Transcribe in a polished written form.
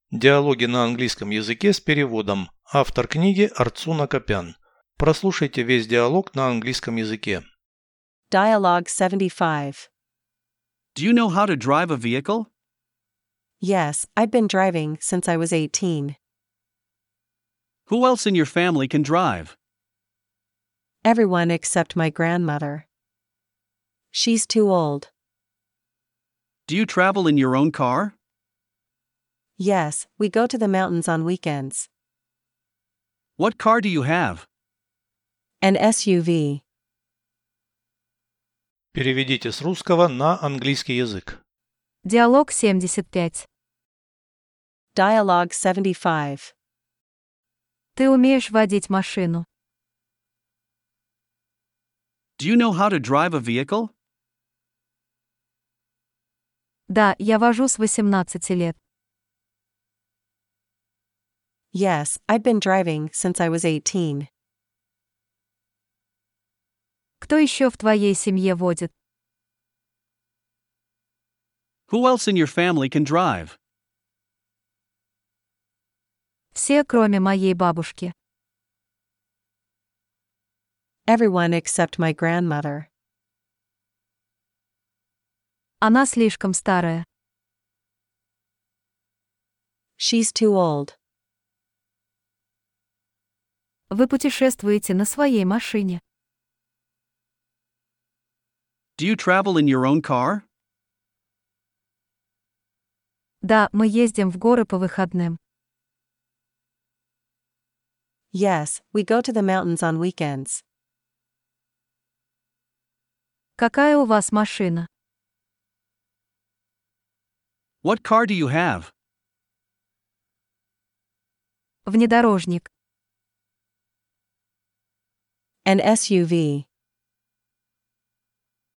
Диалоги на английском языке с переводом. Автор книги Арцуна Копян. Прослушайте весь диалог на английском языке. Dialogue 75. Do you know how to drive a vehicle? Yes, I've been driving since I was 18. Who else in your family can drive? Everyone except my grandmother. She's too old. Do you travel in your own car? Yes, we go to the mountains on weekends. What car do you have? An SUV. Переведите с русского на английский язык. Диалог 75. Dialogue 75. Ты умеешь водить машину? Do you know how to drive a vehicle? Да, я вожу с 18 лет. Yes, I've been driving since I was 18. Кто еще в твоей семье водит? Who else in your family can drive? Все, кроме моей бабушки. Everyone except my grandmother. Она слишком старая. She's too old. Вы путешествуете на своей машине. Do you travel in your own car? Да, мы ездим в горы по выходным. Yes, we go to the mountains on weekends. Какая у вас машина? What car do you have? Внедорожник. An SUV.